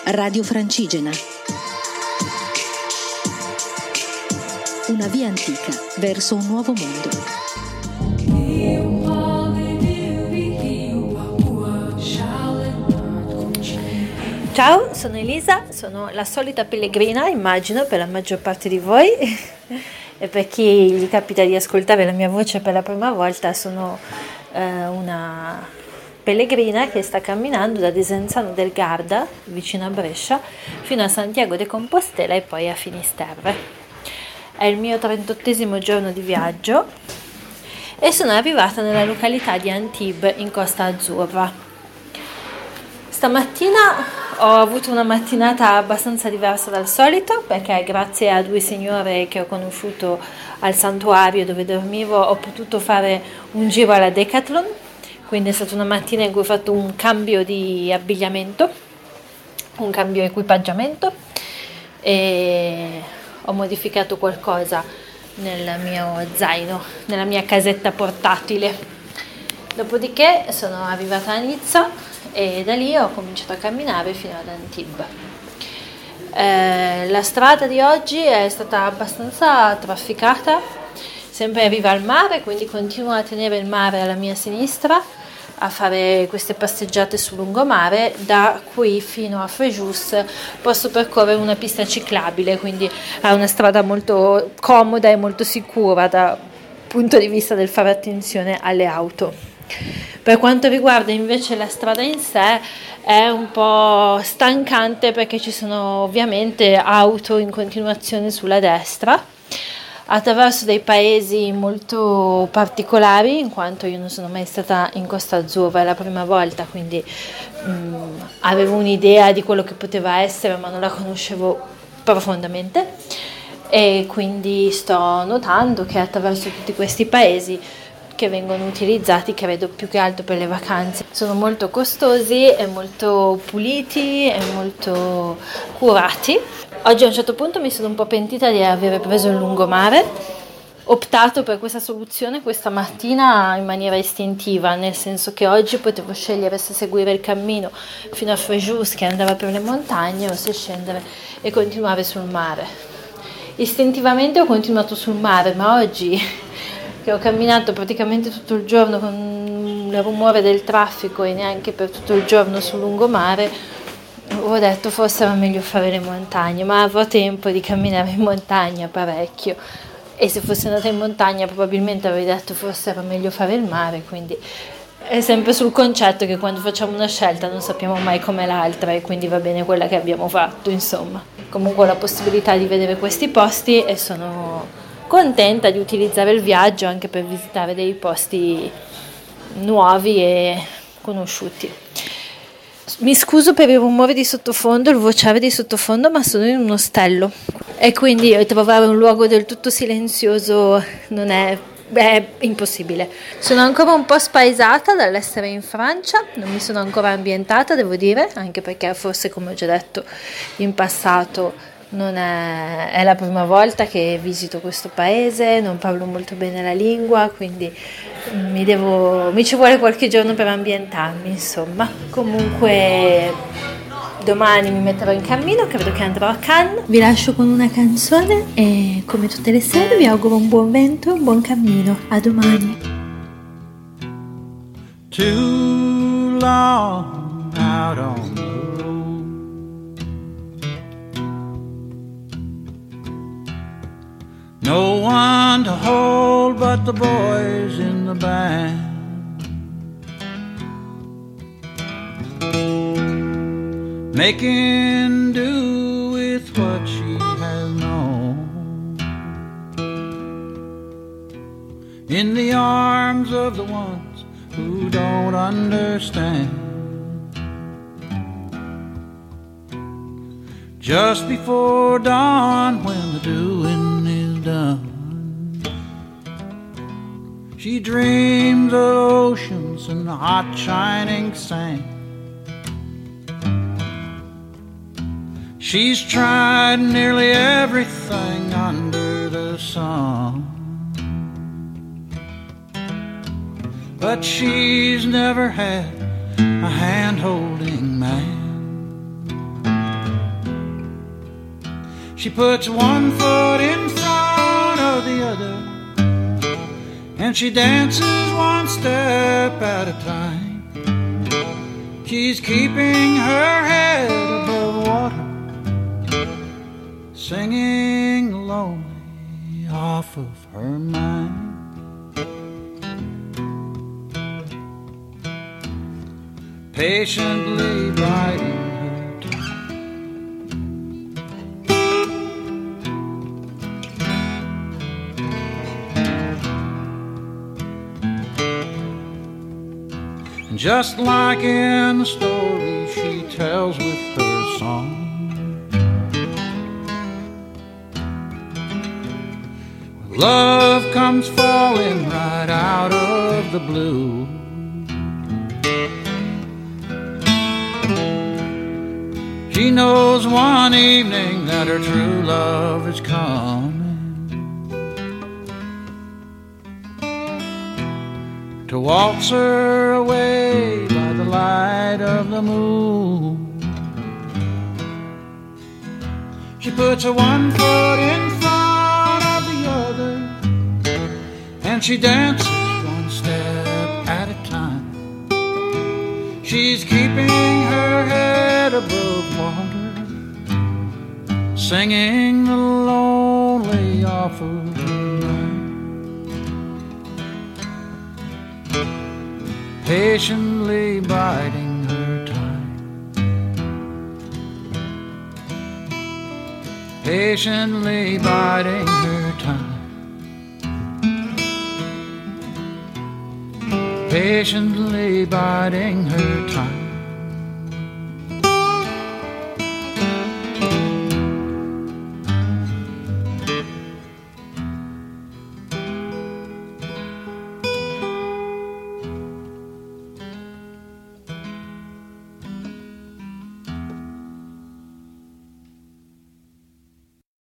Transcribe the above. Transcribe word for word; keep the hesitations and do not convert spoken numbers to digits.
Radio Francigena. Una via antica verso un nuovo mondo. Ciao, sono Elisa, sono la solita pellegrina, immagino, per la maggior parte di voi. E per chi gli capita di ascoltare la mia voce per la prima volta, sono eh, una pellegrina che sta camminando da Desenzano del Garda, vicino a Brescia, fino a Santiago de Compostela e poi a Finisterre. È il mio trentottesimo giorno di viaggio e sono arrivata nella località di Antibes in Costa Azzurra. Stamattina ho avuto una mattinata abbastanza diversa dal solito, perché grazie a due signore che ho conosciuto al santuario dove dormivo ho potuto fare un giro alla Decathlon, quindi è stata una mattina in cui ho fatto un cambio di abbigliamento, un cambio equipaggiamento e ho modificato qualcosa nel mio zaino, nella mia casetta portatile. Dopodiché sono arrivata a Nizza e da lì ho cominciato a camminare fino ad Antibes. Eh, la strada di oggi è stata abbastanza trafficata, sempre in riva al mare, quindi continuo a tenere il mare alla mia sinistra, a fare queste passeggiate sul lungomare. Da qui fino a Fréjus posso percorrere una pista ciclabile, quindi è una strada molto comoda e molto sicura dal punto di vista del fare attenzione alle auto. Per quanto riguarda invece la strada in sé, è un po' stancante perché ci sono ovviamente auto in continuazione sulla destra, attraverso dei paesi molto particolari, in quanto io non sono mai stata in Costa Azzurra, è la prima volta, quindi mh, avevo un'idea di quello che poteva essere, ma non la conoscevo profondamente, e quindi sto notando che attraverso tutti questi paesi che vengono utilizzati, credo più che altro per le vacanze, sono molto costosi e molto puliti e molto curati. Oggi a un certo punto mi sono un po' pentita di aver preso il lungomare, ho optato per questa soluzione questa mattina in maniera istintiva, nel senso che oggi potevo scegliere se seguire il cammino fino a Fréjus che andava per le montagne o se scendere e continuare sul mare. Istintivamente ho continuato sul mare, ma oggi che ho camminato praticamente tutto il giorno con il rumore del traffico e neanche per tutto il giorno sul lungomare, ho detto forse era meglio fare le montagne, ma avrò tempo di camminare in montagna parecchio, e se fossi andata in montagna probabilmente avrei detto forse era meglio fare il mare. Quindi è sempre sul concetto che quando facciamo una scelta non sappiamo mai com'è l'altra, e quindi va bene quella che abbiamo fatto, insomma. Comunque ho la possibilità di vedere questi posti e sono contenta di utilizzare il viaggio anche per visitare dei posti nuovi e conosciuti. Mi scuso per il rumore di sottofondo, il vociare di sottofondo, ma sono in un ostello e quindi trovare un luogo del tutto silenzioso non è, è impossibile. Sono ancora un po' spaesata dall'essere in Francia, non mi sono ancora ambientata, devo dire, anche perché forse, come ho già detto in passato, non è, è la prima volta che visito questo paese, non parlo molto bene la lingua, quindi mi, devo, mi ci vuole qualche giorno per ambientarmi, insomma. Comunque domani mi metterò in cammino, credo che andrò a Cannes. Vi lascio con una canzone e come tutte le sere vi auguro un buon vento, un buon cammino. A domani. Too long out on the road, no one to hold but the boys in the band. Making do with what she has known, in the arms of the ones who don't understand. Just before dawn, when the doing is done, she dreams of oceans and the hot shining sand. She's tried nearly everything under the sun, but she's never had a hand-holding man. She puts one foot in front of the other, and she dances one step at a time. She's keeping her head above water, singing lonely off of her mind. Patiently biding her time. And just like in the story she tells with her song, love comes falling right out of the blue. She knows one evening that her true love is coming to waltz her away by the light of the moon. She puts her one foot in front of the other, and she dances one step at a time. She's keeping her head above water, singing the lonely off of the night. Patiently biding her time. Patiently biding her time. Patiently biding her time.